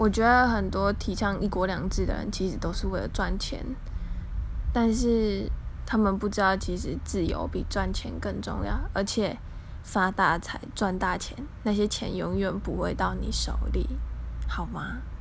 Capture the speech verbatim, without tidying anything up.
我觉得很多提倡一国两制的人，其实都是为了赚钱，但是他们不知道，其实自由比赚钱更重要，而且发大财、赚大钱，那些钱永远不会到你手里，好吗？